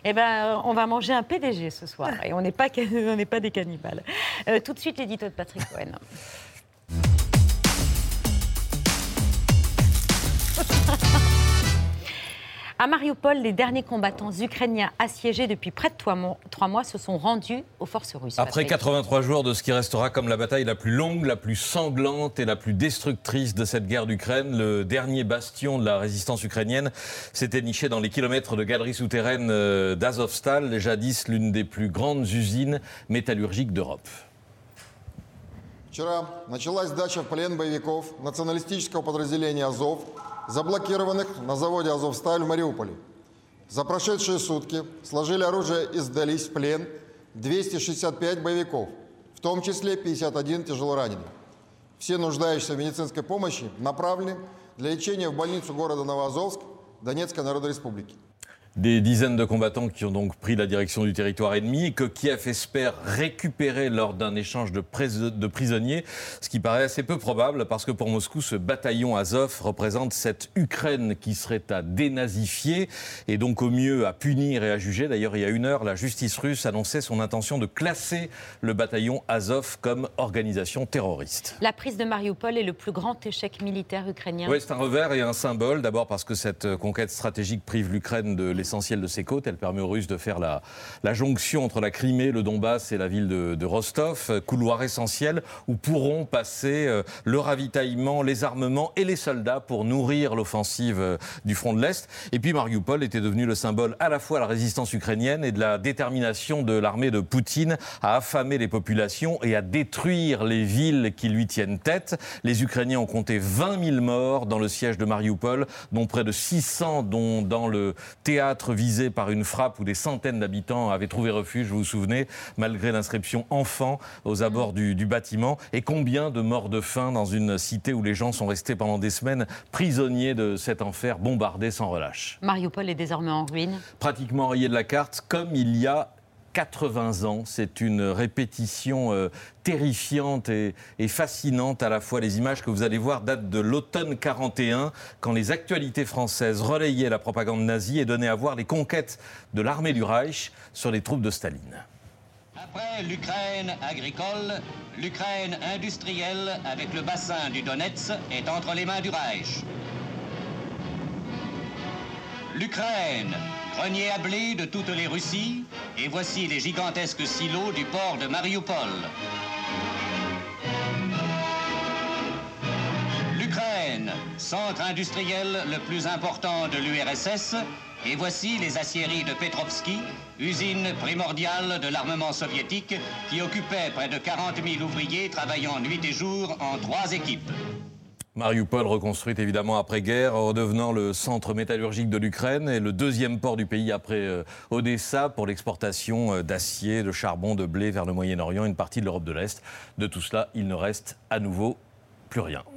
Eh ben, on va manger un PDG ce soir et on n'est pas des cannibales. Tout de suite, l'édito de Patrick Cohen. À Mariupol, les derniers combattants ukrainiens assiégés depuis près de 3 mois se sont rendus aux forces russes. Après 83 jours de ce qui restera comme la bataille la plus longue, la plus sanglante et la plus destructrice de cette guerre d'Ukraine, le dernier bastion de la résistance ukrainienne s'était niché dans les kilomètres de galeries souterraines d'Azovstal, jadis l'une des plus grandes usines métallurgiques d'Europe. Вчера началась сдача в плен боевиков националистического подразделения «Азов», заблокированных на заводе «Азовсталь» в Мариуполе. За прошедшие сутки сложили оружие и сдались в плен 265 боевиков, в том числе 51 тяжелораненых. Все нуждающиеся в медицинской помощи направлены для лечения в больницу города Новоазовск Донецкой Народной Республики. Des dizaines de combattants qui ont donc pris la direction du territoire ennemi et que Kiev espère récupérer lors d'un échange de prisonniers, ce qui paraît assez peu probable parce que pour Moscou, ce bataillon Azov représente cette Ukraine qui serait à dénazifier et donc au mieux à punir et à juger. D'ailleurs, il y a 1 heure, la justice russe annonçait son intention de classer le bataillon Azov comme organisation terroriste. La prise de Mariupol est le plus grand échec militaire ukrainien. Oui, c'est un revers et un symbole. D'abord parce que cette conquête stratégique prive l'Ukraine de l'essentiel de ses côtes. Elle permet aux Russes de faire la jonction entre la Crimée, le Donbass et la ville de Rostov. Couloir essentiel où pourront passer le ravitaillement, les armements et les soldats pour nourrir l'offensive du front de l'Est. Et puis Mariupol était devenu le symbole à la fois de la résistance ukrainienne et de la détermination de l'armée de Poutine à affamer les populations et à détruire les villes qui lui tiennent tête. Les Ukrainiens ont compté 20 000 morts dans le siège de Mariupol, dont près de 600 dont dans le théâtre visé par une frappe où des centaines d'habitants avaient trouvé refuge, vous vous souvenez, malgré l'inscription « enfant » aux abords du bâtiment. Et combien de morts de faim dans une cité où les gens sont restés pendant des semaines prisonniers de cet enfer, bombardés sans relâche. Mariupol est désormais en ruine. Pratiquement rayé de la carte, comme il y a 80 ans. C'est une répétition terrifiante et fascinante à la fois. Les images que vous allez voir datent de l'automne 41, quand les actualités françaises relayaient la propagande nazie et donnaient à voir les conquêtes de l'armée du Reich sur les troupes de Staline. Après l'Ukraine agricole, l'Ukraine industrielle avec le bassin du Donetsk est entre les mains du Reich. L'Ukraine, grenier à blé de toutes les Russies, et voici les gigantesques silos du port de Mariupol. L'Ukraine, centre industriel le plus important de l'URSS, et voici les aciéries de Petrovski, usine primordiale de l'armement soviétique qui occupait près de 40 000 ouvriers travaillant nuit et jour en 3 équipes. Mariupol reconstruite évidemment après-guerre, redevenant le centre métallurgique de l'Ukraine et le deuxième port du pays après Odessa pour l'exportation d'acier, de charbon, de blé vers le Moyen-Orient, une partie de l'Europe de l'Est. De tout cela, il ne reste à nouveau plus rien.